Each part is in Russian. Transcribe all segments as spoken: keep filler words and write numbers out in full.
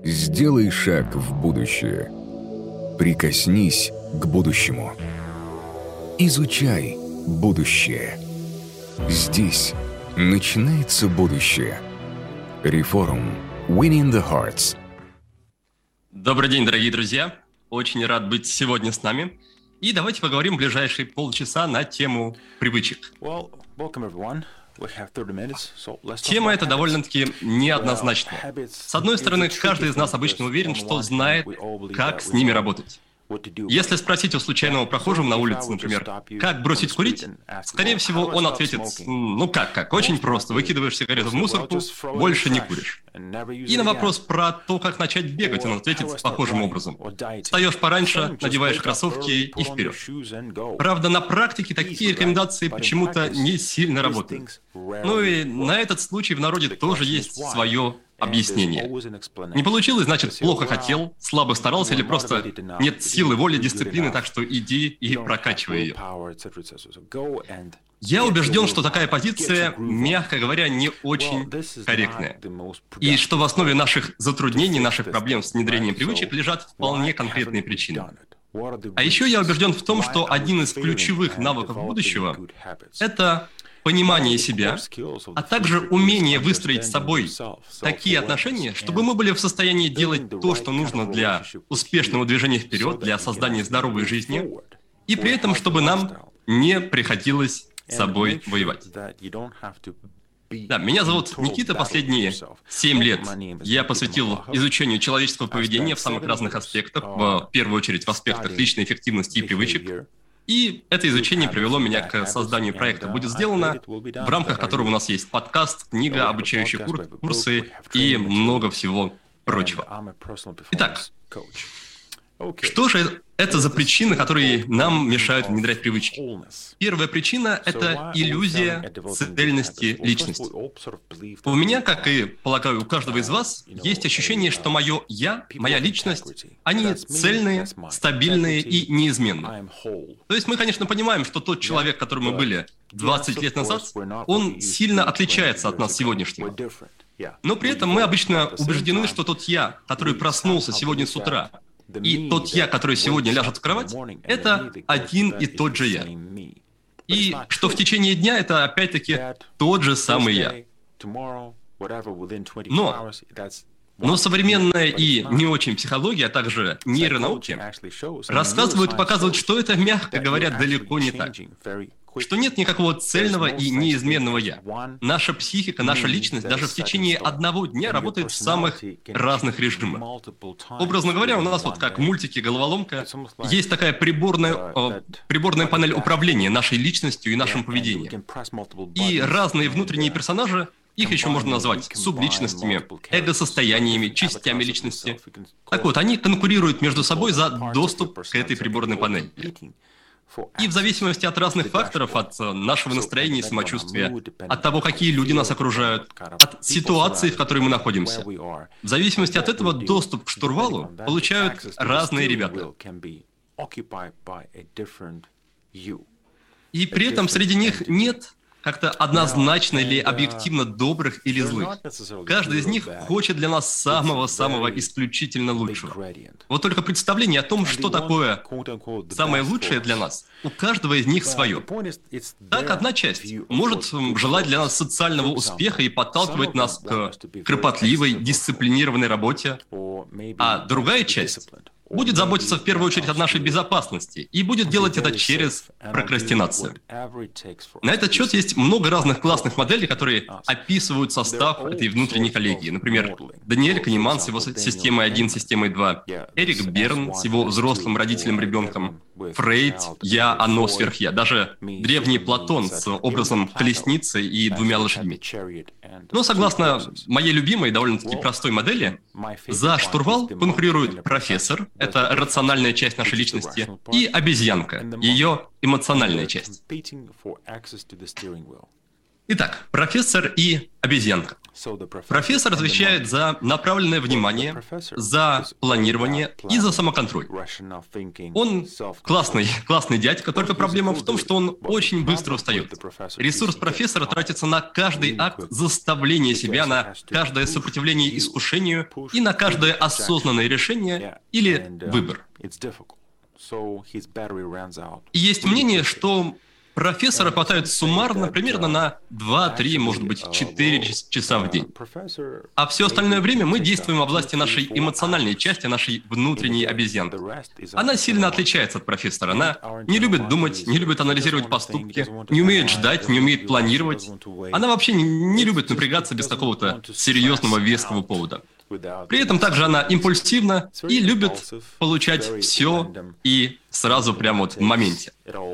Сделай шаг в будущее. Прикоснись к будущему. Изучай будущее. Здесь начинается будущее. Reforum. Winning the Hearts. Добрый день, дорогие друзья. Очень рад быть сегодня с нами. И давайте поговорим в ближайшие полчаса на тему привычек. Well, welcome everyone. Тема эта довольно-таки неоднозначная. С одной стороны, каждый из нас обычно уверен, что знает, как с ними работать. Если спросить у случайного прохожего на улице, например, как бросить курить, скорее всего, он ответит, ну как, как, очень просто, выкидываешь сигарету в мусорку, больше не куришь. И на вопрос про то, как начать бегать, он ответит похожим образом. Встаешь пораньше, надеваешь кроссовки и вперед. Правда, на практике такие рекомендации почему-то не сильно работают. Ну и на этот случай в народе тоже есть свое объяснение. Не получилось, значит, плохо хотел, слабо старался или просто нет силы, воли, дисциплины, так что иди и прокачивай ее. Я убежден, что такая позиция, мягко говоря, не очень корректная. И что в основе наших затруднений, наших проблем с внедрением привычек лежат вполне конкретные причины. А еще я убежден в том, что один из ключевых навыков будущего – это понимание себя, а также умение выстроить с собой такие отношения, чтобы мы были в состоянии делать то, что нужно для успешного движения вперед, для создания здоровой жизни, и при этом, чтобы нам не приходилось с собой воевать. Да, меня зовут Никита. Последние семь лет я посвятил изучению человеческого поведения в самых разных аспектах, в первую очередь в аспектах личной эффективности и привычек. И это изучение привело меня к созданию проекта «Будет сделано», в рамках которого у нас есть подкаст, книга, обучающие кур- курсы и много всего прочего. Итак, что же это за причины, которые нам мешают внедрять привычки? Первая причина – это иллюзия цельности личности. У меня, как и, полагаю, у каждого из вас, есть ощущение, что мое «я», моя личность, они цельные, стабильные и неизменные. То есть мы, конечно, понимаем, что тот человек, которым мы были двадцать лет назад, он сильно отличается от нас сегодняшнего. Но при этом мы обычно убеждены, что тот «я», который проснулся сегодня с утра, и тот «я», который сегодня ляжет в кровать, это один и тот же «я». И что в течение дня это опять-таки тот же самый «я». Но, но современная и не очень психология, а также нейронауки рассказывают и показывают, что это, мягко говоря, далеко не так. Что нет никакого цельного и неизменного «я». Наша психика, наша личность даже в течение одного дня работает в самых разных режимах. Образно говоря, у нас вот как в мультике «Головоломка» есть такая приборная, э, приборная панель управления нашей личностью и нашим поведением. И разные внутренние персонажи, их еще можно назвать субличностями, эго-состояниями, частями личности. Так вот, они конкурируют между собой за доступ к этой приборной панели. И в зависимости от разных факторов, от нашего настроения и самочувствия, от того, какие люди нас окружают, от ситуации, в которой мы находимся, в зависимости от этого доступ к штурвалу получают разные ребята. И при этом среди них нет как-то однозначно или объективно добрых или злых. Каждый из них хочет для нас самого-самого исключительно лучшего. Вот только представление о том, что такое самое лучшее для нас, у каждого из них свое. Так, одна часть может желать для нас социального успеха и подталкивать нас к кропотливой, дисциплинированной работе, а другая часть будет заботиться в первую очередь о нашей безопасности и будет делать это через прокрастинацию. На этот счет есть много разных классных моделей, которые описывают состав этой внутренней коллегии. Например, Даниэль Канеман с его системой один, системой два, Эрик Берн с его взрослым родителем-ребенком, Фрейд, я, оно, сверхя, даже древний Платон с образом колесницы и двумя лошадьми. Но согласно моей любимой, довольно-таки простой модели, за штурвал конкурирует профессор, это рациональная часть нашей личности, и обезьянка, ее эмоциональная часть. Итак, профессор и обезьянка. Профессор отвечает за направленное внимание, за планирование и за самоконтроль. Он классный, классный дядька, только проблема в том, что он очень быстро устает. Ресурс профессора тратится на каждый акт заставления себя, на каждое сопротивление искушению и на каждое осознанное решение или выбор. И есть мнение, что профессора хватает суммарно примерно на два-три, может быть, четыре часа в день. А все остальное время мы действуем во власти нашей эмоциональной части, нашей внутренней обезьянки. Она сильно отличается от профессора. Она не любит думать, не любит анализировать поступки, не умеет ждать, не умеет планировать. Она вообще не, не любит напрягаться без какого-то серьезного веского повода. При этом также она импульсивна и любит получать все и сразу прямо вот в моменте.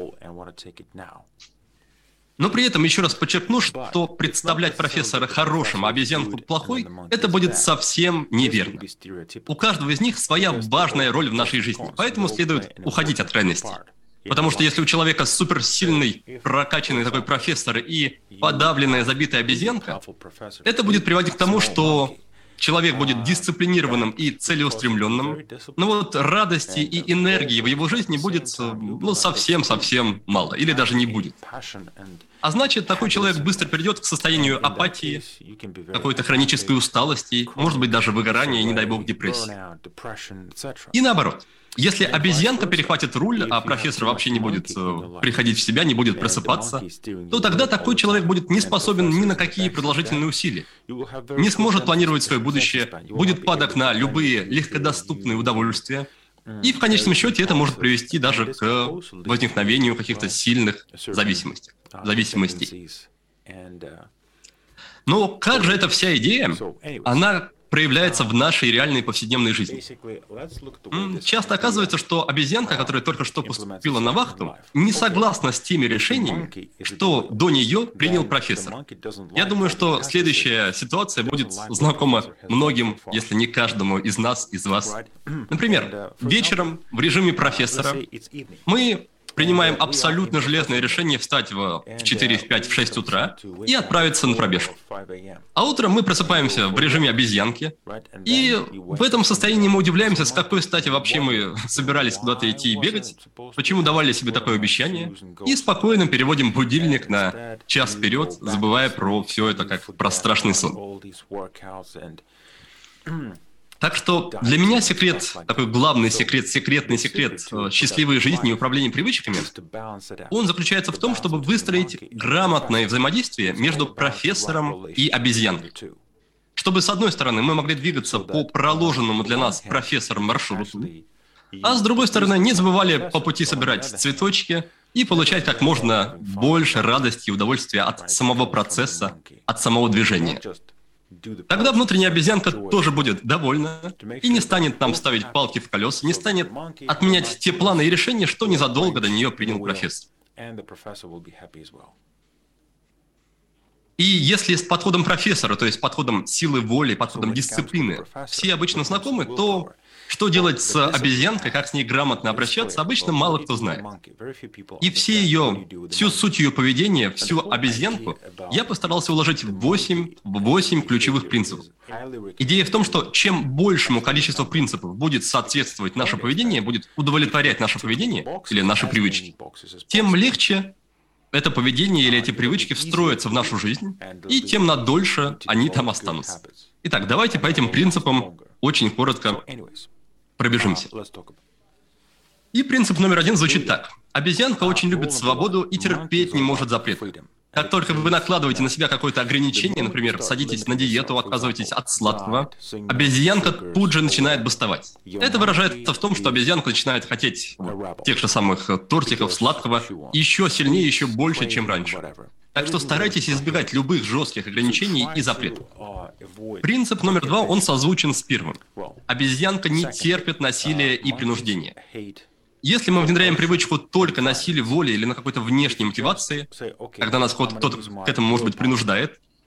Но при этом еще раз подчеркну, что представлять профессора хорошим, а обезьянку плохой, это будет совсем неверно. У каждого из них своя важная роль в нашей жизни, поэтому следует уходить от крайностей. Потому что если у человека суперсильный, прокачанный такой профессор и подавленная, забитая обезьянка, это будет приводить к тому, что человек будет дисциплинированным и целеустремленным, но вот радости и энергии в его жизни будет, ну, совсем-совсем мало, или даже не будет. А значит, такой человек быстро перейдет к состоянию апатии, какой-то хронической усталости, может быть, даже выгорания и, не дай бог, депрессии. И наоборот. Если обезьянка перехватит руль, а профессор вообще не будет э, приходить в себя, не будет просыпаться, то тогда такой человек будет не способен ни на какие продолжительные усилия, не сможет планировать свое будущее, будет падок на любые легкодоступные удовольствия, и в конечном счете это может привести даже к возникновению каких-то сильных зависимостей. зависимостей. Но как же эта вся идея, она проявляется в нашей реальной повседневной жизни. Часто оказывается, что обезьянка, которая только что поступила на вахту, не согласна с теми решениями, что до нее принял профессор. Я думаю, что следующая ситуация будет знакома многим, если не каждому из нас, из вас. Например, вечером в режиме профессора мы принимаем абсолютно железное решение встать в четыре, в пять, в шесть утра и отправиться на пробежку. А утром мы просыпаемся в режиме обезьянки, и в этом состоянии мы удивляемся, с какой стати вообще мы собирались куда-то идти и бегать, почему давали себе такое обещание, и спокойно переводим будильник на час вперед, забывая про все это как про страшный сон. Так что для меня секрет, такой главный секрет, секретный секрет счастливой жизни и управления привычками, он заключается в том, чтобы выстроить грамотное взаимодействие между профессором и обезьянкой. Чтобы, с одной стороны, мы могли двигаться по проложенному для нас профессором маршруту, а с другой стороны, не забывали по пути собирать цветочки и получать как можно больше радости и удовольствия от самого процесса, от самого движения. Тогда внутренняя обезьянка тоже будет довольна и не станет нам ставить палки в колеса, не станет отменять те планы и решения, что незадолго до нее принял профессор. И если с подходом профессора, то есть подходом силы воли, подходом дисциплины, все обычно знакомы, то что делать с обезьянкой, как с ней грамотно обращаться, обычно мало кто знает. И все ее, всю суть ее поведения, всю обезьянку я постарался уложить в восемь, в восемь ключевых принципов. Идея в том, что чем большему количеству принципов будет соответствовать наше поведение, будет удовлетворять наше поведение или наши привычки, тем легче это поведение или эти привычки встроятся в нашу жизнь, и тем надольше они там останутся. Итак, давайте по этим принципам очень коротко пробежимся. И принцип номер один звучит так. Обезьянка очень любит свободу и терпеть не может запретов. Как только вы накладываете на себя какое-то ограничение, например, садитесь на диету, отказываетесь от сладкого, обезьянка тут же начинает бастовать. Это выражается в том, что обезьянка начинает хотеть вот, тех же самых тортиков, сладкого, еще сильнее, еще больше, чем раньше. Так что старайтесь избегать любых жестких ограничений и запретов. Принцип номер два, он созвучен с первым. Обезьянка не терпит насилия и принуждения. Если мы внедряем привычку только на силе воли или на какой-то внешней мотивации, когда нас кто-то к этому, может быть, принуждает,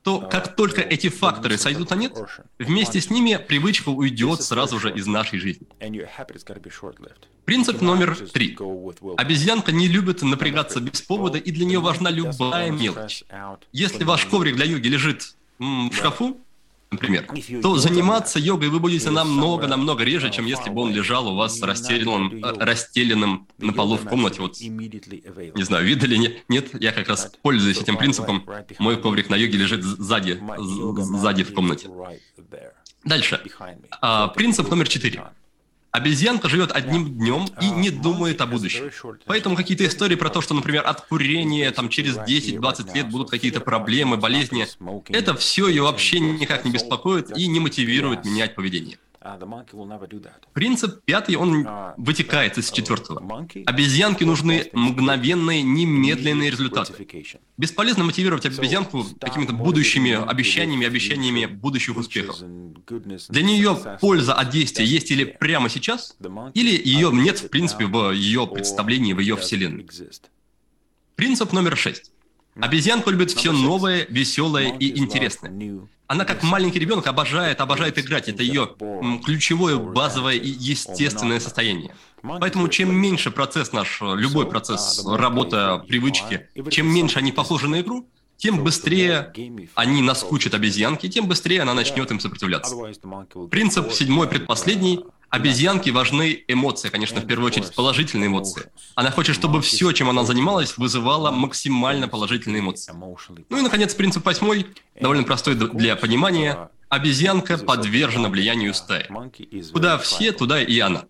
то как только эти факторы сойдут на нет, вместе с ними привычка уйдет сразу же из нашей жизни. Принцип номер три. Обезьянка не любит напрягаться без повода, и для нее важна любая мелочь. Если ваш коврик для йоги лежит м, в шкафу, например, то заниматься йогой вы будете намного-намного реже, чем если бы он лежал у вас расстеленным, расстеленным на полу в комнате. Вот, не знаю, видели, нет, нет, я как раз пользуюсь этим принципом. Мой коврик на йоге лежит сзади, сзади в комнате. Дальше. А, принцип номер четыре. Обезьянка живет одним днем и не думает о будущем. Поэтому какие-то истории про то, что, например, от курения там, через десять-двадцать лет будут какие-то проблемы, болезни, это все ее вообще никак не беспокоит и не мотивирует менять поведение. Принцип пятый, он вытекает из четвертого. Обезьянке нужны мгновенные, немедленные результаты. Бесполезно мотивировать обезьянку какими-то будущими обещаниями, обещаниями будущих успехов. Для нее польза от действия есть или прямо сейчас, или ее нет, в принципе, в ее представлении, в ее вселенной. Принцип номер шесть. Обезьянка любит все новое, веселое и интересное. Она, как маленький ребенок, обожает, обожает играть. Это ее ключевое, базовое и естественное состояние. Поэтому чем меньше процесс наш, любой процесс, работа, привычки, чем меньше они похожи на игру, тем быстрее они наскучат обезьянке, тем быстрее она начнет им сопротивляться. Принцип седьмой, предпоследний. Обезьянке важны эмоции, конечно, в первую очередь положительные эмоции. Она хочет, чтобы все, чем она занималась, вызывало максимально положительные эмоции. Ну и, наконец, принцип восьмой, довольно простой для понимания. Обезьянка подвержена влиянию стаи. Куда все, туда и она.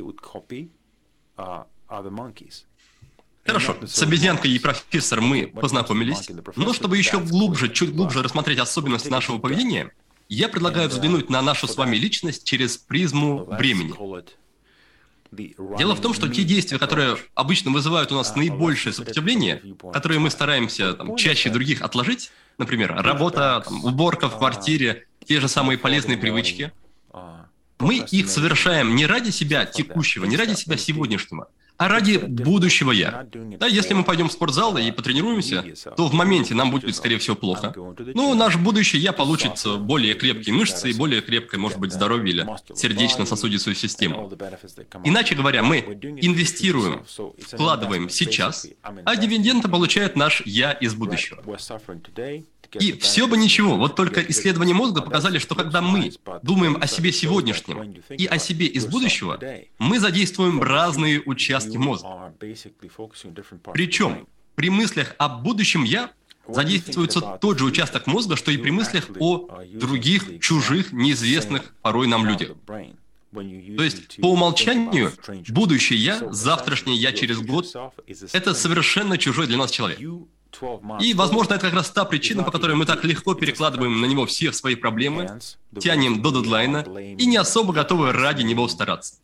Хорошо, с обезьянкой и профессором мы познакомились, но чтобы еще глубже, чуть глубже рассмотреть особенности нашего поведения, я предлагаю взглянуть на нашу с вами личность через призму времени. Дело в том, что те действия, которые обычно вызывают у нас наибольшее сопротивление, которые мы стараемся там, чаще других отложить, например, работа, там, уборка в квартире, те же самые полезные привычки, мы их совершаем не ради себя текущего, не ради себя сегодняшнего, а ради будущего «я». Да, если мы пойдем в спортзал и потренируемся, то в моменте нам будет, скорее всего, плохо. Но наш будущий «я» получит более крепкие мышцы и более крепкое, может быть, здоровье или сердечно-сосудистую систему. Иначе говоря, мы инвестируем, вкладываем сейчас, а дивиденды получает наш «я» из будущего. И все бы ничего, вот только исследования мозга показали, что когда мы думаем о себе сегодняшнем и о себе из будущего, мы задействуем разные участки мозга. Причем при мыслях о будущем «я» задействуется тот же участок мозга, что и при мыслях о других, чужих, неизвестных порой нам людях. То есть, по умолчанию, будущее «я», завтрашнее «я» через год — это совершенно чужой для нас человек. И, возможно, это как раз та причина, по которой мы так легко перекладываем на него все свои проблемы, тянем до дедлайна и не особо готовы ради него стараться.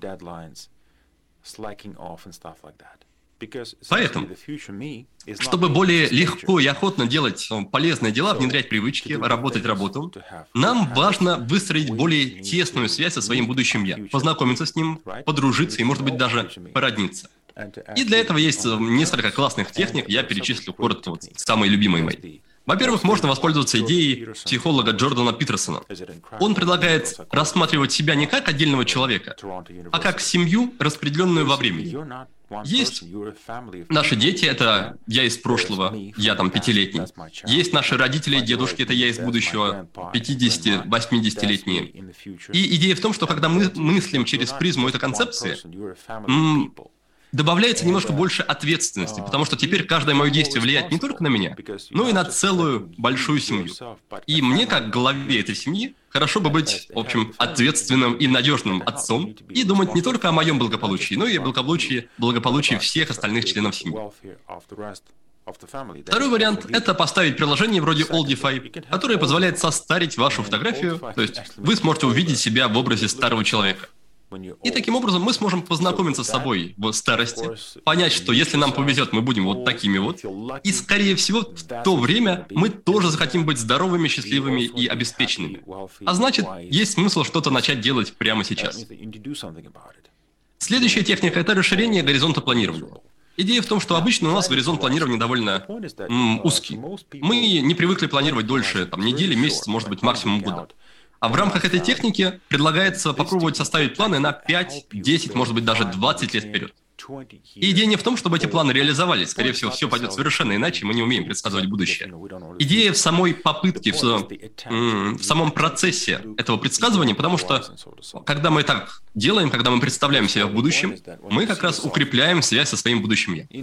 Поэтому, чтобы более легко и охотно делать полезные дела, внедрять привычки, работать работу, нам важно выстроить более тесную связь со своим будущим «я», познакомиться с ним, подружиться и, может быть, даже породниться. И для этого есть несколько классных техник, я перечислю коротко вот самые любимые мои. Во-первых, можно воспользоваться идеей психолога Джордана Питерсона. Он предлагает рассматривать себя не как отдельного человека, а как семью, распределенную во времени. Есть наши дети, это я из прошлого, я там пятилетний. Есть наши родители, дедушки, это я из будущего, пятидесяти-восьмидесятилетние. И идея в том, что когда мы мыслим через призму этой концепции, м- добавляется немножко больше ответственности, потому что теперь каждое мое действие влияет не только на меня, но и на целую большую семью. И мне, как главе этой семьи, хорошо бы быть, в общем, ответственным и надежным отцом и думать не только о моем благополучии, но и о благополучии, благополучии всех остальных членов семьи. Второй вариант — это поставить приложение вроде Oldify, которое позволяет состарить вашу фотографию, то есть вы сможете увидеть себя в образе старого человека. И таким образом мы сможем познакомиться с собой в старости, понять, что если нам повезет, мы будем вот такими вот, и, скорее всего, в то время мы тоже захотим быть здоровыми, счастливыми и обеспеченными. А значит, есть смысл что-то начать делать прямо сейчас. Следующая техника — это расширение горизонта планирования. Идея в том, что обычно у нас горизонт планирования довольно м, узкий. Мы не привыкли планировать дольше там, недели, месяца, может быть, максимум года. А в рамках этой техники предлагается попробовать составить планы на пять, десять, может быть, даже двадцать лет вперед. И идея не в том, чтобы эти планы реализовались. Скорее всего, все пойдет совершенно иначе, мы не умеем предсказывать будущее. Идея в самой попытке, в, в самом процессе этого предсказывания, потому что, когда мы так делаем, когда мы представляем себя в будущем, мы как раз укрепляем связь со своим будущим «я».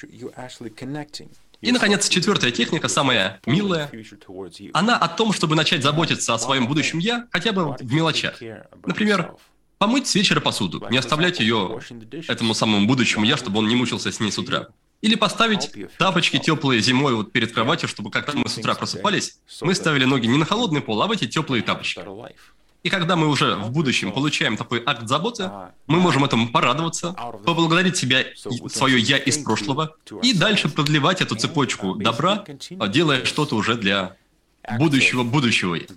И, наконец, четвертая техника, самая милая, она о том, чтобы начать заботиться о своем будущем «я» хотя бы в мелочах. Например, помыть с вечера посуду, не оставлять ее этому самому будущему «я», чтобы он не мучился с ней с утра. Или поставить тапочки теплые зимой вот перед кроватью, чтобы когда мы с утра просыпались, мы ставили ноги не на холодный пол, а в эти теплые тапочки. И когда мы уже в будущем получаем такой акт заботы, мы можем этому порадоваться, поблагодарить себя, свое «я» из прошлого, и дальше продлевать эту цепочку добра, делая что-то уже для будущего будущего «я».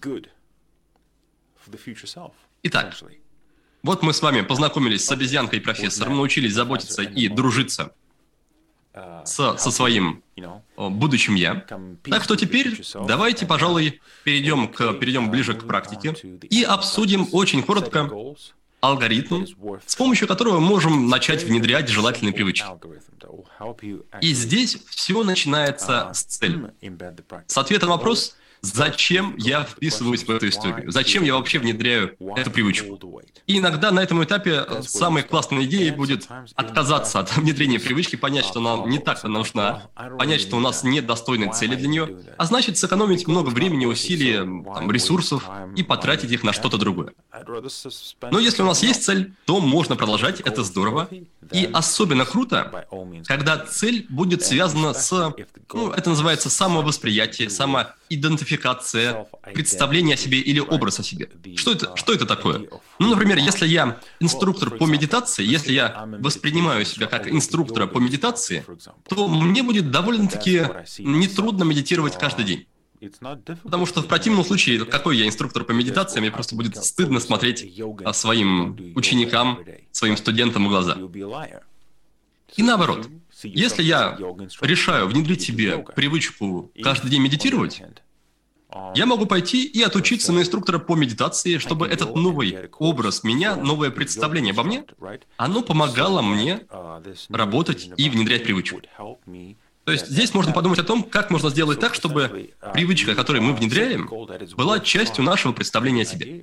Итак, вот мы с вами познакомились с обезьянкой и профессором, научились заботиться и дружиться со, со своим будущим «я». Так что теперь давайте, пожалуй, перейдем, к, перейдем ближе к практике и обсудим очень коротко алгоритм, с помощью которого мы можем начать внедрять желательные привычки. И здесь все начинается с цели. С ответа на вопрос, зачем я вписываюсь в эту историю, зачем я вообще внедряю эту привычку. И иногда на этом этапе самой классной идеей будет отказаться от внедрения привычки, понять, что нам не так она нужна, понять, что у нас нет достойной цели для нее, а значит сэкономить много времени, усилий, там, ресурсов и потратить их на что-то другое. Но если у нас есть цель, то можно продолжать, это здорово. И особенно круто, когда цель будет связана с, ну, это называется самовосприятие, самоидентификация, представление о себе или образ о себе. Что это, что это такое? Ну, например, если я инструктор по медитации, если я воспринимаю себя как инструктора по медитации, то мне будет довольно-таки нетрудно медитировать каждый день. Потому что в противном случае, какой я инструктор по медитации, мне просто будет стыдно смотреть своим ученикам, своим студентам в глаза. И наоборот, если я решаю внедрить себе привычку каждый день медитировать, я могу пойти и отучиться на инструктора по медитации, чтобы этот новый образ меня, новое представление обо мне, оно помогало мне работать и внедрять привычку. То есть здесь можно подумать о том, как можно сделать так, чтобы привычка, которую мы внедряем, была частью нашего представления о себе.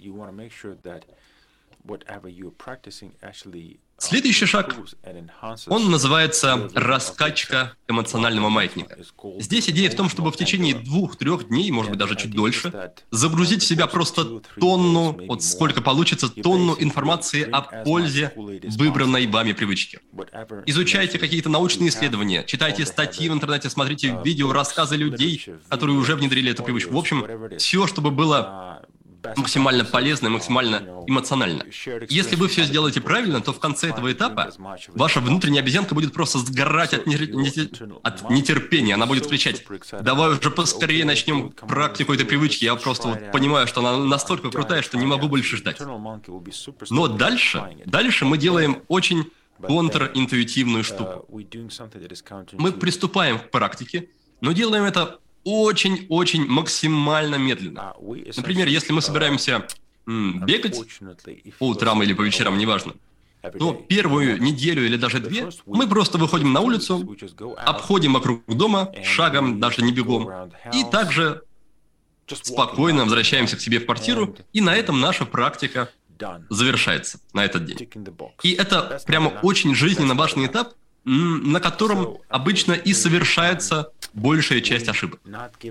Следующий шаг, он называется раскачка эмоционального маятника. Здесь идея в том, чтобы в течение двух-трех дней, может быть даже чуть дольше, загрузить в себя просто тонну, вот сколько получится, тонну информации о пользе выбранной вами привычки. Изучайте какие-то научные исследования, читайте статьи в интернете, смотрите видео, рассказы людей, которые уже внедрили эту привычку. В общем, все, чтобы было максимально полезно, максимально эмоционально. Если вы все сделаете правильно, то в конце этого этапа ваша внутренняя обезьянка будет просто сгорать от, нетер... от нетерпения. Она будет кричать: давай уже поскорее начнем практику этой привычки. Я просто вот понимаю, что она настолько крутая, что не могу больше ждать. Но дальше, дальше мы делаем очень контринтуитивную штуку. Мы приступаем к практике, но делаем это очень-очень максимально медленно. Например, если мы собираемся м, бегать по утрам или по вечерам, неважно, то первую неделю или даже две мы просто выходим на улицу, обходим вокруг дома, шагом, даже не бегом, и также спокойно возвращаемся к себе в квартиру, и на этом наша практика завершается на этот день. И это прямо очень жизненно важный этап, на котором обычно и совершается большая часть ошибок.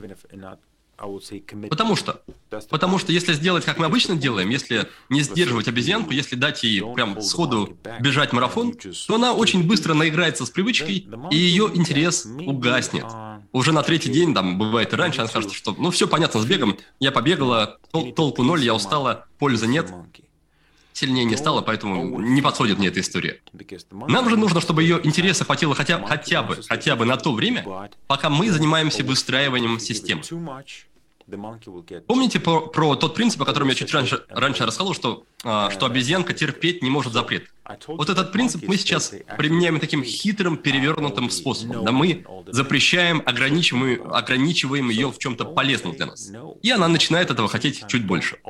Потому что, потому что если сделать, как мы обычно делаем, если не сдерживать обезьянку, если дать ей прям сходу бежать марафон, то она очень быстро наиграется с привычкой, и ее интерес угаснет. Уже на третий день, там, бывает и раньше, она скажет, что ну все понятно с бегом, я побегала, тол- толку ноль, я устала, пользы нет. Сильнее не стало, поэтому не подходит мне эта история. Нам же нужно, чтобы ее интереса хватило хотя, хотя бы, хотя бы на то время, пока мы занимаемся выстраиванием системы. Помните про, про тот принцип, о котором я чуть раньше, раньше рассказывал, что, а, что обезьянка терпеть не может запрет? Вот этот принцип мы сейчас применяем таким хитрым, перевернутым способом. Да мы запрещаем, ограничиваем, ограничиваем ее в чем-то полезном для нас. И она начинает этого хотеть чуть больше.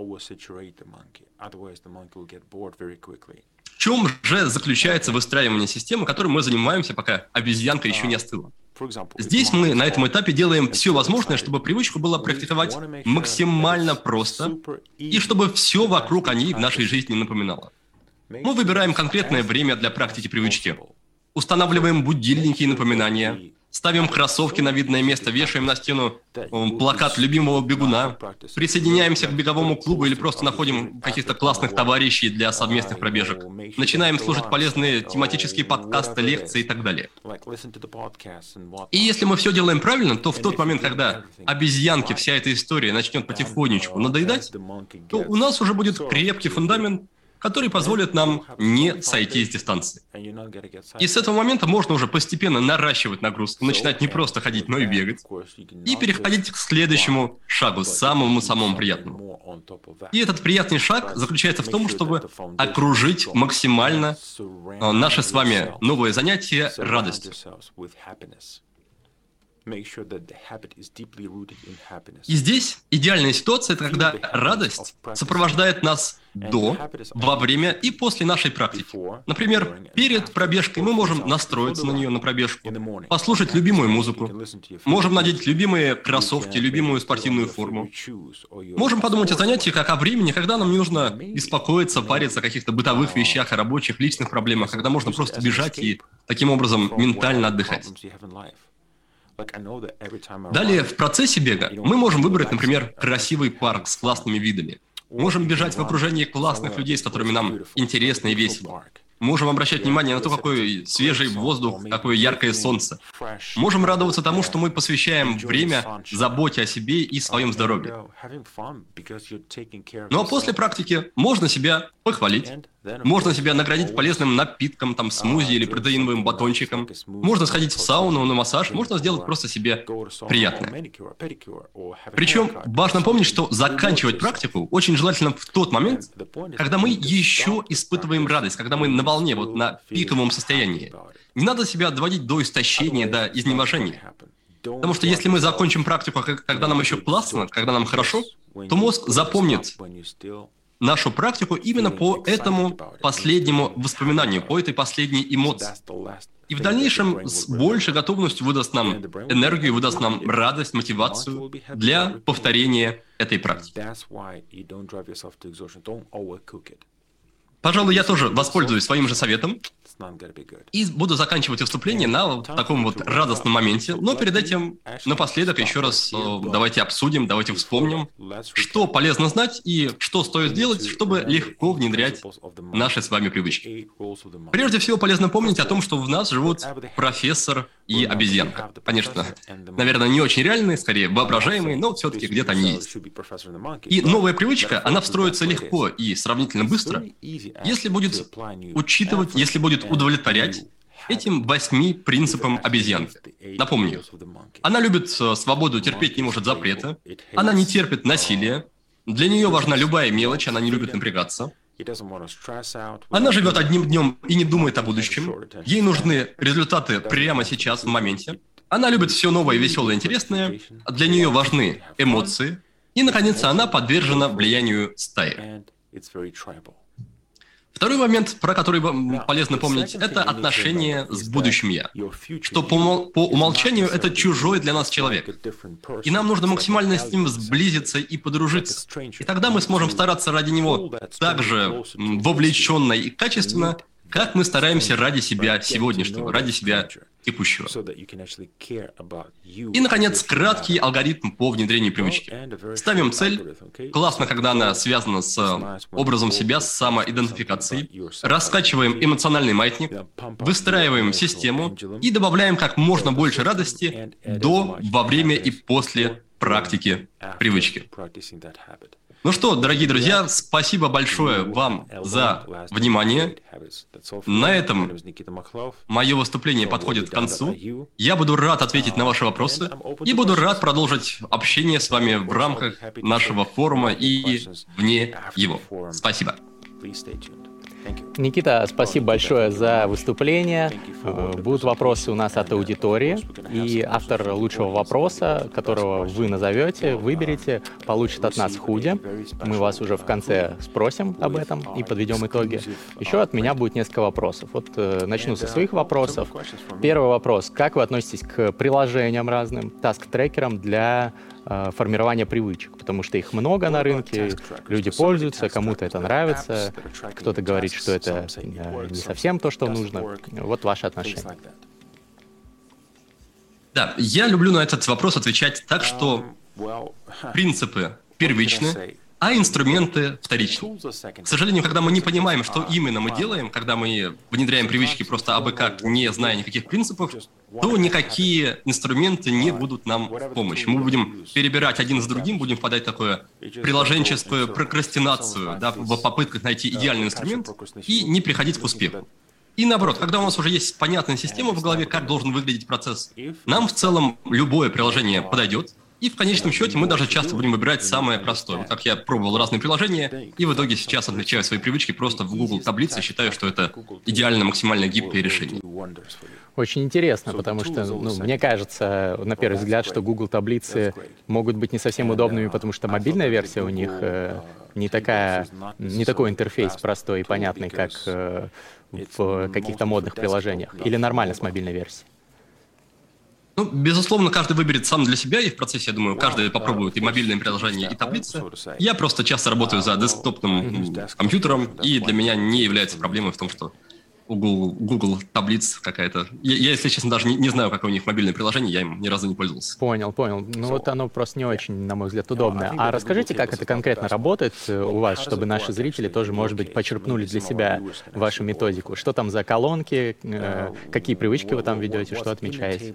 В чем же заключается выстраивание системы, которой мы занимаемся, пока обезьянка еще не остыла? Здесь мы на этом этапе делаем все возможное, чтобы привычку было практиковать максимально просто, и чтобы все вокруг о ней в нашей жизни напоминало. Мы выбираем конкретное время для практики привычки, устанавливаем будильники и напоминания, ставим кроссовки на видное место, вешаем на стену плакат любимого бегуна, присоединяемся к беговому клубу или просто находим каких-то классных товарищей для совместных пробежек, начинаем слушать полезные тематические подкасты, лекции и так далее. И если мы все делаем правильно, то в тот момент, когда обезьянке вся эта история начнет потихонечку надоедать, то у нас уже будет крепкий фундамент, который позволит нам не сойти с дистанции. И с этого момента можно уже постепенно наращивать нагрузку, начинать не просто ходить, но и бегать, и переходить к следующему шагу, самому-самому приятному. И этот приятный шаг заключается в том, чтобы окружить максимально наше с вами новое занятие радостью. И здесь идеальная ситуация, это когда радость сопровождает нас до, во время и после нашей практики. Например, перед пробежкой мы можем настроиться на нее, на пробежку, послушать любимую музыку, можем надеть любимые кроссовки, любимую спортивную форму. Можем подумать о занятии как о времени, когда нам не нужно беспокоиться, париться о каких-то бытовых вещах, о рабочих, личных проблемах, когда можно просто бежать и таким образом ментально отдыхать. Далее, в процессе бега мы можем выбрать, например, красивый парк с классными видами. Можем бежать в окружении классных людей, с которыми нам интересно и весело. Можем обращать внимание на то, какой свежий воздух, какое яркое солнце. Можем радоваться тому, что мы посвящаем время заботе о себе и своем здоровье. Ну а после практики можно себя похвалить, можно себя наградить полезным напитком, там, смузи или протеиновым батончиком. Можно сходить в сауну, на массаж, можно сделать просто себе приятное. Причем важно помнить, что заканчивать практику очень желательно в тот момент, когда мы еще испытываем радость, когда мы на волне, вот на пиковом состоянии. Не надо себя доводить до истощения, до изнеможения. Потому что если мы закончим практику, когда нам еще классно, когда нам хорошо, то мозг запомнит нашу практику именно по этому последнему воспоминанию, по этой последней эмоции. И в дальнейшем с большей готовностью выдаст нам энергию, выдаст нам радость, мотивацию для повторения этой практики. Пожалуй, я тоже воспользуюсь своим же советом и буду заканчивать выступление на вот таком вот радостном моменте. Но перед этим, напоследок, еще раз давайте обсудим, давайте вспомним, что полезно знать и что стоит делать, чтобы легко внедрять наши с вами привычки. Прежде всего, полезно помнить о том, что в нас живут профессор и обезьянка. Конечно, наверное, не очень реальные, скорее воображаемые, но все-таки где-то они есть. И новая привычка, она встроится легко и сравнительно быстро, если будет учитывать, если будет удовлетворять этим восьми принципам обезьянки. Напомню, она любит свободу, терпеть не может запрета, она не терпит насилия, для нее важна любая мелочь, она не любит напрягаться. Она живет одним днем и не думает о будущем. Ей нужны результаты прямо сейчас, в моменте. Она любит все новое, веселое, интересное. Для нее важны эмоции. И, наконец, она подвержена влиянию стаи. Второй момент, про который полезно помнить, это отношение с будущим «я». Что по, по умолчанию это чужой для нас человек. И нам нужно максимально с ним сблизиться и подружиться. И тогда мы сможем стараться ради него так же вовлеченно и качественно, как мы стараемся ради себя сегодняшнего, ради себя текущего. И, наконец, краткий алгоритм по внедрению привычки. Ставим цель. Классно, когда она связана с образом себя, с самоидентификацией. Раскачиваем эмоциональный маятник, выстраиваем систему и добавляем как можно больше радости до, во время и после практики привычки. Ну что, дорогие друзья, спасибо большое вам за внимание. На этом мое выступление подходит к концу. Я буду рад ответить на ваши вопросы и буду рад продолжить общение с вами в рамках нашего форума и вне его. Спасибо. Никита, спасибо большое за выступление. Будут вопросы у нас от аудитории, и автор лучшего вопроса, которого вы назовете, выберете, получит от нас худи. Мы вас уже в конце спросим об этом и подведем итоги. Еще от меня будет несколько вопросов. Вот начну со своих вопросов. Первый вопрос. Как вы относитесь к приложениям разным, таск-трекерам для формирования привычек? Потому что их много на рынке, люди пользуются, кому-то это нравится, кто-то говорит, что это не совсем то, что нужно. Вот ваше отношение. Да, я люблю на этот вопрос отвечать так, что принципы первичны, а инструменты вторичны. К сожалению, когда мы не понимаем, что именно мы делаем, когда мы внедряем привычки просто абы как, не зная никаких принципов, то никакие инструменты не будут нам в помощь. Мы будем перебирать один с другим, будем впадать в такую приложенческую прокрастинацию, да, в попытках найти идеальный инструмент и не приходить к успеху. И наоборот, когда у нас уже есть понятная система в голове, как должен выглядеть процесс, нам в целом любое приложение подойдет. И в конечном счете мы даже часто будем выбирать самое простое. Вот как я пробовал разные приложения, и в итоге сейчас отмечаю свои привычки просто в Google таблице, считаю, что это идеально максимально гибкое решение. Очень интересно, потому что, ну, мне кажется, на первый взгляд, что Google таблицы могут быть не совсем удобными, потому что мобильная версия у них э, не такая, не такой интерфейс простой и понятный, как э, в каких-то модных приложениях. Или нормально с мобильной версией? Ну, безусловно, каждый выберет сам для себя, и в процессе, я думаю, каждый попробует и мобильное приложение, и таблицы. Я просто часто работаю за десктопным компьютером, и для меня не является проблемой в том, что у Google, Google таблиц какая-то. Я, я, если честно, даже не, не знаю, какое у них мобильное приложение, я им ни разу не пользовался. Понял, понял. Ну вот оно просто не очень, на мой взгляд, удобное. А расскажите, как это конкретно работает у вас, чтобы наши зрители тоже, может быть, почерпнули для себя вашу методику. Что там за колонки, э, какие привычки вы там ведете, что отмечаете?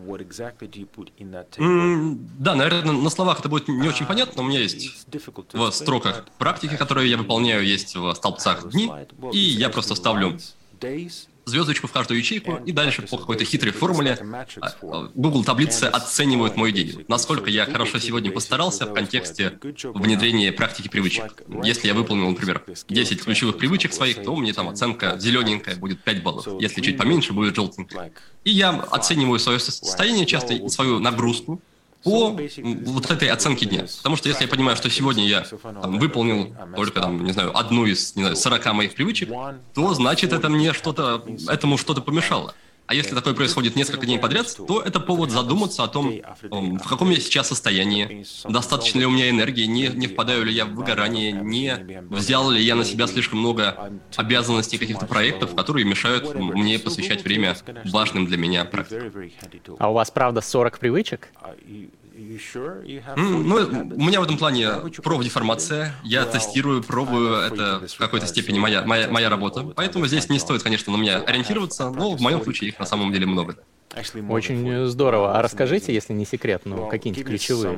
Mm, да, наверное, на словах это будет не очень понятно, но у меня есть в строках практики, которые я выполняю, есть в столбцах дни, и я просто ставлю звездочку в каждую ячейку, и дальше по какой-то хитрой формуле Google таблицы оценивают мой день. Насколько я хорошо сегодня постарался в контексте внедрения практики привычек. Если я выполнил, например, десять ключевых привычек своих, то мне там оценка зелененькая будет пять баллов. Если чуть поменьше, будет желтенькая. И я оцениваю свое состояние часто и свою нагрузку по вот этой оценке дня. Потому что если я понимаю, что сегодня я там, выполнил только, там, не знаю, одну из, не знаю, сорока моих привычек, то значит это мне что-то, этому что-то помешало. А если такое происходит несколько дней подряд, то это повод задуматься о том, в каком я сейчас состоянии, достаточно ли у меня энергии, не, не впадаю ли я в выгорание, не взял ли я на себя слишком много обязанностей, каких-то проектов, которые мешают мне посвящать время важным для меня практикам. А у вас, правда, сорок привычек? Mm, ну, у меня в этом плане профдеформация. Я тестирую, пробую, это в какой-то степени моя, моя, моя работа. Поэтому здесь не стоит, конечно, на меня ориентироваться, но в моем случае их на самом деле много. Очень здорово. А расскажите, если не секрет, ну, какие-нибудь ключевые?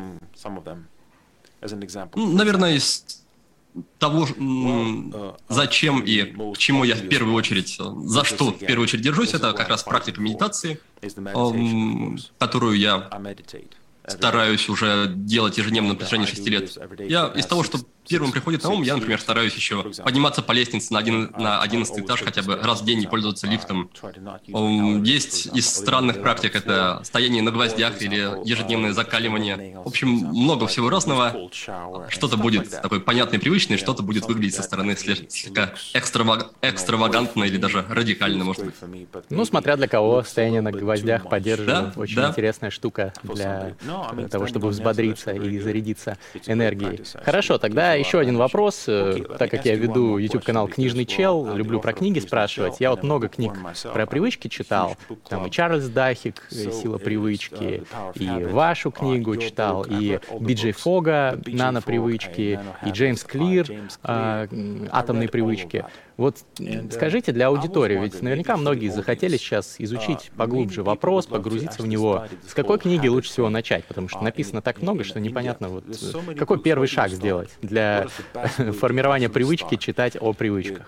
Наверное, из того, зачем и к чему я в первую очередь, за что в первую очередь держусь, это как раз практика медитации, которую я стараюсь уже делать ежедневно на протяжении шести лет. Я из того, что первым приходит на ум, я, например, стараюсь еще подниматься по лестнице на, один, на одиннадцатый этаж хотя бы раз в день, не пользоваться лифтом. Есть из странных практик это стояние на гвоздях или ежедневное закаливание. В общем, много всего разного. Что-то будет такое понятное, привычное, что-то будет выглядеть со стороны слегка экстраваг... экстравагантно или даже радикально, может быть. Ну, смотря для кого, стояние на гвоздях поддерживает. Да, очень да. интересная штука для того, чтобы взбодриться и зарядиться энергией. Хорошо, тогда еще один вопрос, так как я веду YouTube-канал «Книжный чел», люблю про книги спрашивать. Я вот много книг про привычки читал, там и Чарльз Дахик «Сила привычки», и вашу книгу читал, и Би Джей Фога «Нано-привычки», и Джеймс Клир «Атомные привычки». Вот скажите для аудитории, ведь наверняка многие захотели сейчас изучить поглубже вопрос, погрузиться в него. С какой книги лучше всего начать? Потому что написано так много, что непонятно, вот, какой первый шаг сделать для формирования привычки читать о привычках.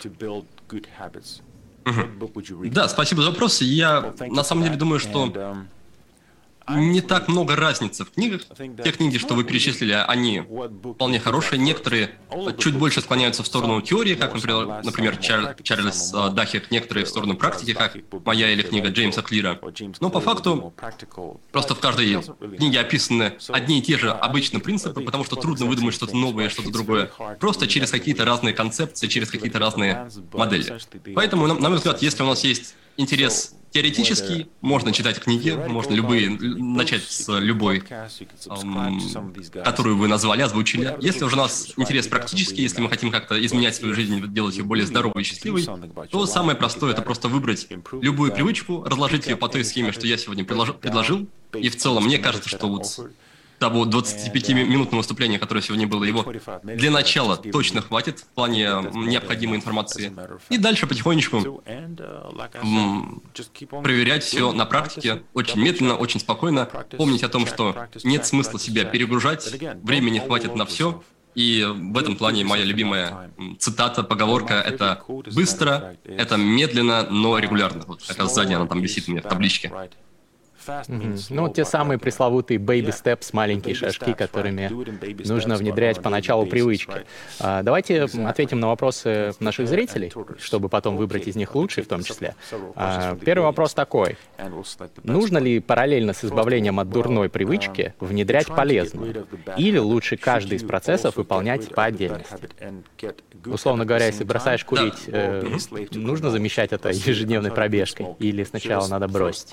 Угу. Да, спасибо за вопрос. Я на самом деле думаю, что не так много разницы в книгах. Те книги, что вы перечислили, они вполне хорошие. Некоторые чуть больше склоняются в сторону теории, как, например, например Чар, Чарльз Дахек, некоторые в сторону практики, как моя или книга Джеймса Клира. Но по факту просто в каждой книге описаны одни и те же обычные принципы, потому что трудно выдумать что-то новое, что-то другое, просто через какие-то разные концепции, через какие-то разные модели. Поэтому, на мой взгляд, если у нас есть интерес теоретический, можно читать книги, можно любые, начать с любой, эм, которую вы назвали, озвучили. Если уже у нас интерес практический, если мы хотим как-то изменять свою жизнь, делать ее более здоровой и счастливой, то самое простое — это просто выбрать любую привычку, разложить ее по той схеме, что я сегодня предложил, и в целом мне кажется, что вот того двадцатипятиминутного выступления, которое сегодня было, его для начала точно хватит в плане необходимой информации. И дальше потихонечку м, проверять все на практике, очень медленно, очень спокойно, помнить о том, что нет смысла себя перегружать, времени хватит на все. И в этом плане моя любимая цитата, поговорка — это «быстро, это медленно, но регулярно». Вот как раз сзади она там висит у меня в табличке. Mm-hmm. Ну, те самые пресловутые baby steps, маленькие шажки, которыми нужно внедрять поначалу привычки. А, давайте ответим на вопросы наших зрителей, чтобы потом выбрать из них лучшие в том числе. А, первый вопрос такой. Нужно ли параллельно с избавлением от дурной привычки внедрять полезную? Или лучше каждый из процессов выполнять по отдельности? Условно говоря, если бросаешь курить, э, нужно замещать это ежедневной пробежкой? Или сначала надо бросить?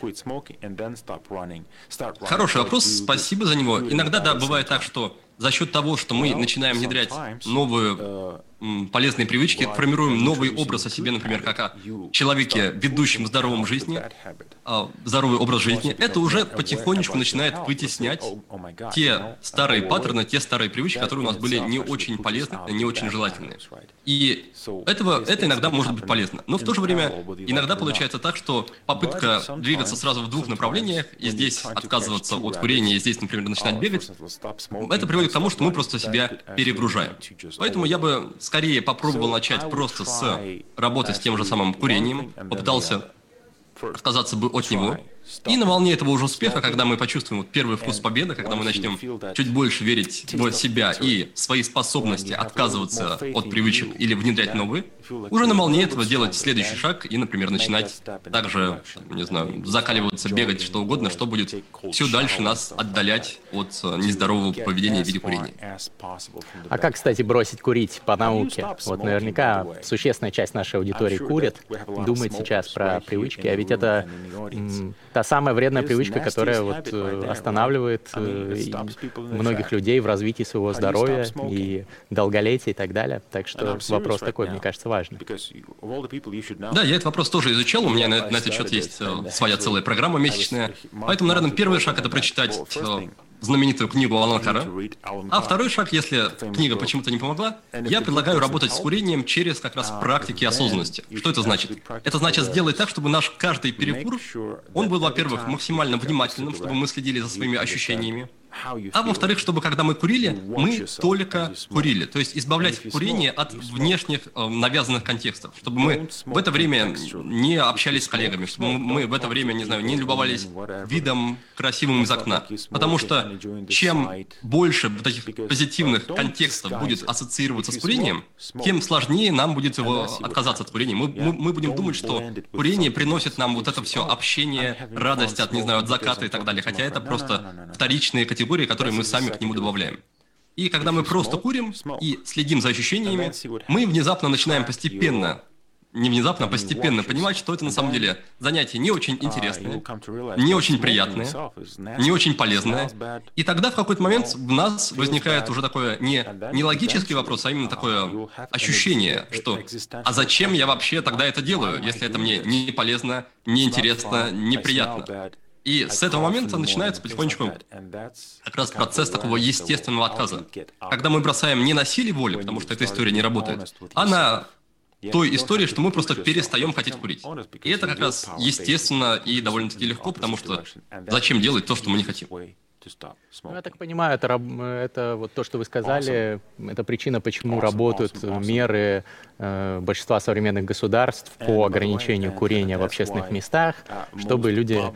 Хороший вопрос, спасибо за него. Иногда, да, бывает так, что за счет того, что мы начинаем внедрять новые м, полезные привычки, формируем новый образ о себе, например, как о человеке, ведущем здоровом жизни, а, здоровый образ жизни, это уже потихонечку начинает вытеснять те старые паттерны, те старые привычки, которые у нас были не очень полезны, не очень желательные. И этого, это иногда может быть полезно. Но в то же время иногда получается так, что попытка двигаться сразу в двух направлениях, и здесь отказываться от курения, и здесь, например, начинать бегать, это приводит к тому, что мы просто себя перегружаем. Поэтому я бы скорее попробовал начать просто с работы с тем же самым курением, попытался отказаться бы от него. И на волне этого уже успеха, когда мы почувствуем вот первый вкус победы, когда мы начнем чуть больше верить в себя и в свои способности отказываться от привычек или внедрять новые, уже на волне этого делать следующий шаг и, например, начинать также, не знаю, закаливаться, бегать, что угодно, что будет все дальше нас отдалять от нездорового поведения в виде курения. А как, кстати, бросить курить по науке? Вот наверняка существенная часть нашей аудитории курит, думает сейчас про привычки, а ведь это м, та самая вредная привычка, которая вот останавливает многих людей в развитии своего здоровья и долголетия и так далее. Так что вопрос такой, мне кажется, важный. Да, я этот вопрос тоже изучал, у меня на, на этот счет есть своя целая программа месячная. Поэтому, наверное, первый шаг — это прочитать знаменитую книгу Алана Кара. А второй шаг, если книга почему-то не помогла, я предлагаю работать с курением через как раз практики осознанности. Что это значит? Это значит сделать так, чтобы наш каждый перекур, он был, во-первых, максимально внимательным, чтобы мы следили за своими ощущениями. А во-вторых, чтобы когда мы курили, мы только курили. То есть избавлять курение от внешних э, навязанных контекстов. Чтобы мы в это время не общались с коллегами, чтобы мы в это время, не знаю, не любовались видом красивым из окна. Потому что чем больше вот этих позитивных контекстов будет ассоциироваться с курением, тем сложнее нам будет его отказаться от курения. Мы, мы, мы будем думать, что курение приносит нам вот это все общение, радость от, не знаю, от заката и так далее. Хотя это просто вторичные категории, которые мы сами к нему добавляем. И когда мы просто курим и следим за ощущениями, мы внезапно начинаем постепенно, не внезапно, а постепенно понимать, что это на самом деле занятие не очень интересное, не очень приятное, не очень полезное. И тогда в какой-то момент в нас возникает уже такое не, не логический вопрос, а именно такое ощущение, что «а зачем я вообще тогда это делаю, если это мне не полезно, не интересно, неприятно?» И с этого момента начинается потихонечку как раз процесс такого естественного отказа. Когда мы бросаем не на силе воли, потому что эта история не работает, а на той истории, что мы просто перестаем хотеть курить. И это как раз естественно и довольно-таки легко, потому что зачем делать то, что мы не хотим? Ну, я так понимаю, это, это вот то, что вы сказали, это причина, почему работают меры э, большинства современных государств по ограничению курения в общественных местах, чтобы люди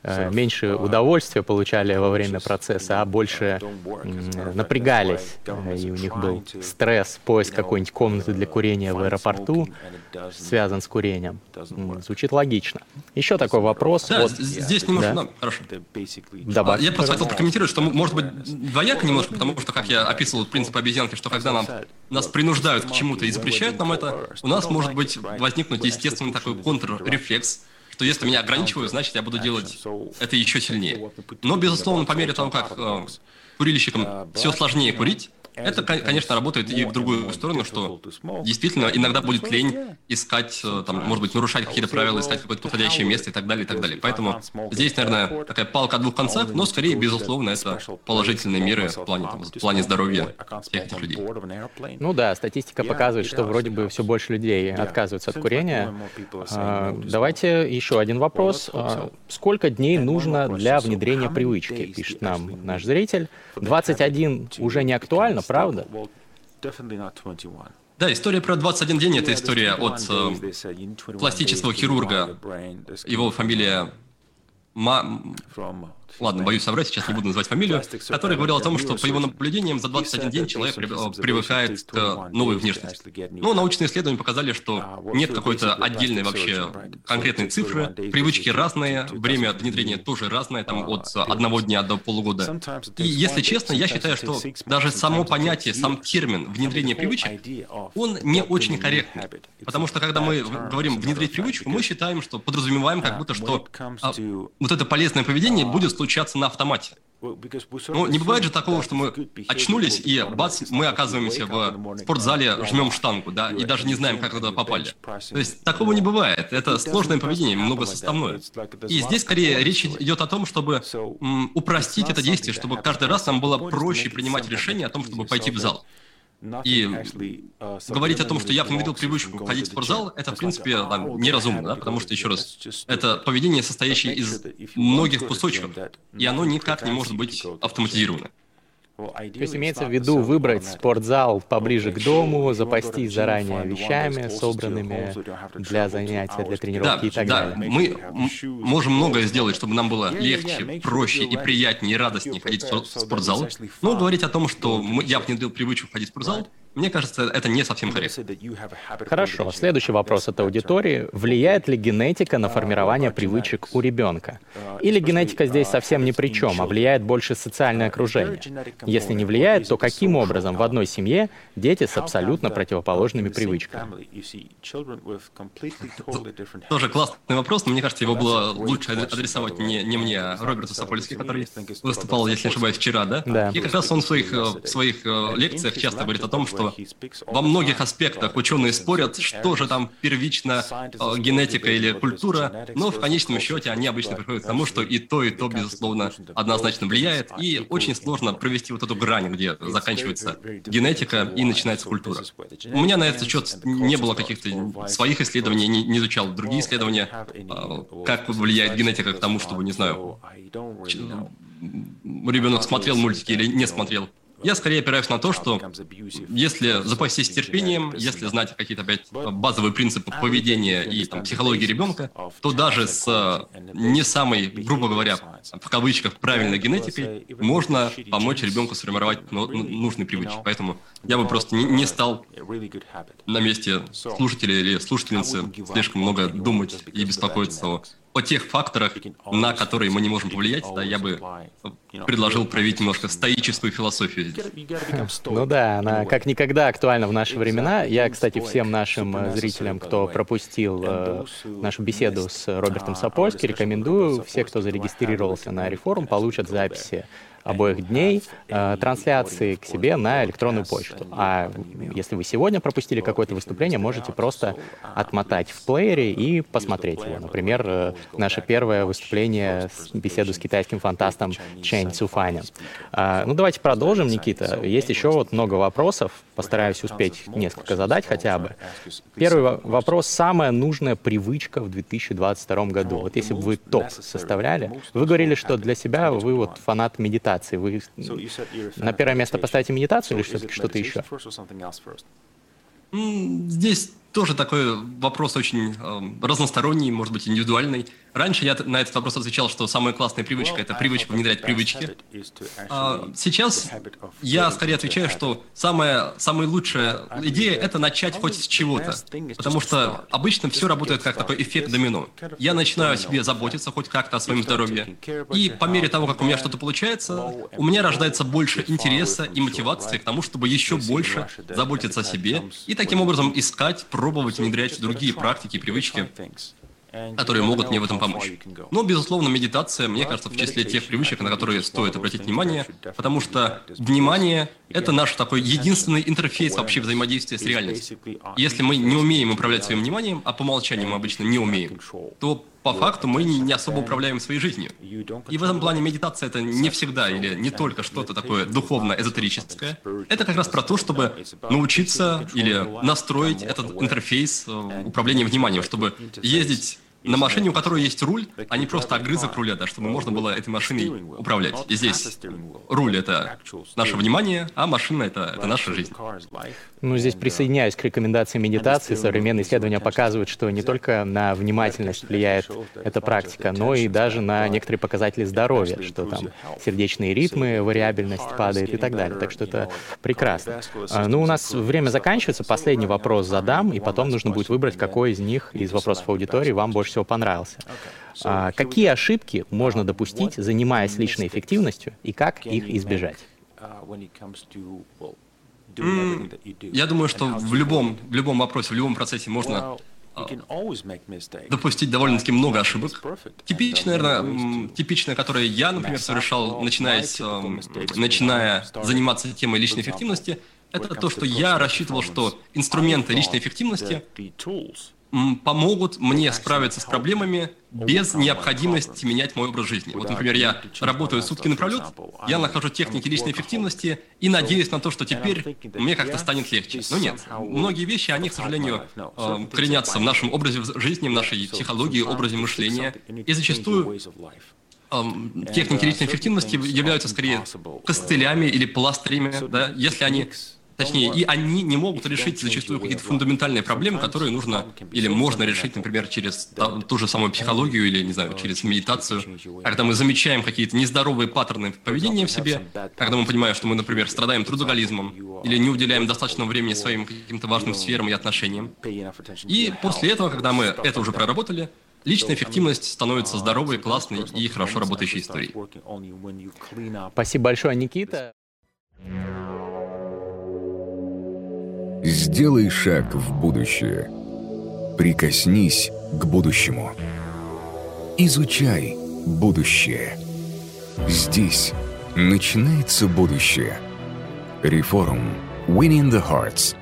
меньше удовольствия получали во время процесса, а больше напрягались, и у них был стресс, поиск какой-нибудь комнаты для курения в аэропорту, связан с курением. Звучит логично. Еще такой вопрос. Да, вот, здесь немножко, да? Да, хорошо. Добавьте, я просто хотел прокомментировать, что может быть двояко немножко, потому что, как я описывал принцип обезьянки, что когда нам, нас принуждают к чему-то и запрещают нам это, у нас может быть возникнуть естественный такой контррефлекс, что если меня ограничивают, значит, я буду делать это еще сильнее. Но, безусловно, по мере того, как э, курильщикам все сложнее курить, это, конечно, работает и в другую сторону, что действительно иногда будет лень искать, там, может быть, нарушать какие-то правила, искать какое-то подходящее место и так далее, и так далее. Поэтому здесь, наверное, такая палка о двух концах, но скорее, безусловно, это положительные меры в плане, там, в плане здоровья всех этих людей. Ну да, статистика показывает, что вроде бы все больше людей отказываются от курения. А, давайте еще один вопрос. А, сколько дней нужно для внедрения привычки, пишет нам наш зритель. двадцать один уже не актуально, правда? Да, история про двадцать один день – это история от э, пластического хирурга, его фамилия Ма... Ладно, боюсь соврать, сейчас не буду называть фамилию, который говорил о том, что по его наблюдениям за двадцать один день человек привыкает к новой внешности. Но научные исследования показали, что нет какой-то отдельной вообще конкретной цифры, привычки разные, время внедрения тоже разное, там от одного дня до полугода. И если честно, я считаю, что даже само понятие, сам термин внедрение привычек, он не очень корректный. Потому что когда мы говорим внедрить привычку, мы считаем, что подразумеваем как будто, что а, вот это полезное поведение будет случаться на автомате. Ну, не бывает же такого, что мы очнулись, и бац, мы оказываемся в спортзале, жмем штангу, да, и даже не знаем, как туда попали. То есть такого не бывает. Это сложное поведение, многосоставное. И здесь, скорее, речь идет о том, чтобы м, упростить это действие, чтобы каждый раз нам было проще принимать решение о том, чтобы пойти в зал. И говорить о том, что я внедрил привычку ходить в спортзал, это, в принципе, там, неразумно, да? Потому что, еще раз, это поведение, состоящее из многих кусочков, и оно никак не может быть автоматизировано. То есть имеется в виду выбрать спортзал поближе к дому, запастись заранее вещами, собранными для занятия, для тренировки да, и так да, далее. Мы можем многое сделать, чтобы нам было легче, проще и приятнее, и радостнее ходить в спортзал. Но говорить о том, что мы, я внедрил привычку ходить в спортзал, мне кажется, это не совсем корректно. Хорошо. Следующий вопрос от аудитории. Влияет ли генетика на формирование привычек у ребенка? Или генетика здесь совсем ни при чем, а влияет больше социальное окружение? Если не влияет, то каким образом в одной семье дети с абсолютно противоположными привычками? Тоже классный вопрос, но мне кажется, его было лучше адресовать не, не мне, а Роберту Сапольски, который выступал, если не ошибаюсь, вчера, да? Да. И как раз он в своих, в своих лекциях часто говорит о том, что во многих аспектах ученые спорят, что же там первично, э, генетика или культура, но в конечном счете они обычно приходят к тому, что и то, и то, безусловно, однозначно влияет, и очень сложно провести вот эту грань, где заканчивается генетика и начинается культура. У меня на этот счет не было каких-то своих исследований, не, не изучал другие исследования, э, как влияет генетика к тому, чтобы, не знаю, ребенок смотрел мультики или не смотрел. Я скорее опираюсь на то, что если запастись терпением, если знать какие-то опять базовые принципы поведения и там, психологии ребенка, то даже с не самой, грубо говоря, в кавычках, правильной генетикой можно помочь ребенку сформировать ну, нужные привычки. Поэтому я бы просто не, не стал на месте слушателя или слушательницы слишком много думать и беспокоиться о о тех факторах, на которые мы не можем повлиять, да, я бы предложил проявить немножко стоическую философию. Ну да, она как никогда актуальна в наши времена. Я, кстати, всем нашим зрителям, кто пропустил э, нашу беседу с Робертом Сапольски, рекомендую. Все, кто зарегистрировался на Рефорум, получат записи обоих дней э, трансляции к себе на электронную почту. А если вы сегодня пропустили какое-то выступление, можете просто отмотать в плеере и посмотреть его. Например, э, наше первое выступление, беседу с китайским фантастом Чэнь Цюфанем. Э, ну, давайте продолжим, Никита. Есть еще вот много вопросов. Постараюсь успеть несколько задать хотя бы. Первый вопрос. Самая нужная привычка в две тысячи двадцать втором году. Вот если бы вы топ составляли, вы говорили, что для себя вы вот фанат медитации. Вы на первое место поставите медитацию или все-таки что-то еще? Здесь тоже такой вопрос очень э, разносторонний, может быть, индивидуальный. Раньше я на этот вопрос отвечал, что самая классная привычка – это привычка внедрять привычки. А сейчас я скорее отвечаю, что самая, самая лучшая идея – это начать хоть с чего-то. Потому что обычно все работает как такой эффект домино. Я начинаю о себе заботиться хоть как-то о своем здоровье. И по мере того, как у меня что-то получается, у меня рождается больше интереса и мотивации к тому, чтобы еще больше заботиться о себе и таким образом искать, пробовать внедрять другие практики, привычки, которые могут мне в этом помочь. Но, безусловно, медитация, мне кажется, в числе тех привычек, на которые стоит обратить внимание, потому что внимание — это наш такой единственный интерфейс вообще взаимодействия с реальностью. Если мы не умеем управлять своим вниманием, а по умолчанию мы обычно не умеем, то по факту мы не особо управляем своей жизнью. И в этом плане медитация — это не всегда или не только что-то такое духовно-эзотерическое. Это как раз про то, чтобы научиться или настроить этот интерфейс управления вниманием, чтобы ездить на машине, у которой есть руль, а не просто огрызок руля, да, чтобы можно было этой машиной управлять. И здесь руль — это наше внимание, а машина — это, это наша жизнь. Ну, здесь присоединяюсь к рекомендации медитации. Современные исследования показывают, что не только на внимательность влияет эта практика, но и даже на некоторые показатели здоровья, что там сердечные ритмы, вариабельность падает и так далее. Так что это прекрасно. Ну, у нас время заканчивается. Последний вопрос задам, и потом нужно будет выбрать, какой из них, из вопросов аудитории, вам больше всего понравился. А, какие ошибки можно допустить, занимаясь личной эффективностью, и как их избежать? Mm, я думаю, что в любом, в любом вопросе, в любом процессе можно допустить довольно-таки много ошибок. Типичная, наверное, типичная, которую я, например, совершал, начиная, начиная заниматься темой личной эффективности, это то, что я рассчитывал, что инструменты личной эффективности помогут мне справиться с проблемами без необходимости менять мой образ жизни. Вот, например, я работаю сутки напролет, я нахожу техники личной эффективности и надеюсь на то, что теперь мне как-то станет легче. Но нет, многие вещи, они, к сожалению, коренятся в нашем образе жизни, в нашей психологии, образе мышления. И зачастую техники личной эффективности являются скорее костылями или пластырями, да, если они... Точнее, и они не могут решить зачастую какие-то фундаментальные проблемы, которые нужно или можно решить, например, через ту же самую психологию или, не знаю, через медитацию. Когда мы замечаем какие-то нездоровые паттерны поведения в себе, когда мы понимаем, что мы, например, страдаем трудоголизмом или не уделяем достаточного времени своим каким-то важным сферам и отношениям. И после этого, когда мы это уже проработали, личная эффективность становится здоровой, классной и хорошо работающей историей. Спасибо большое, Никита. Сделай шаг в будущее. Прикоснись к будущему. Изучай будущее. Здесь начинается будущее. Reforum. Winning the Hearts.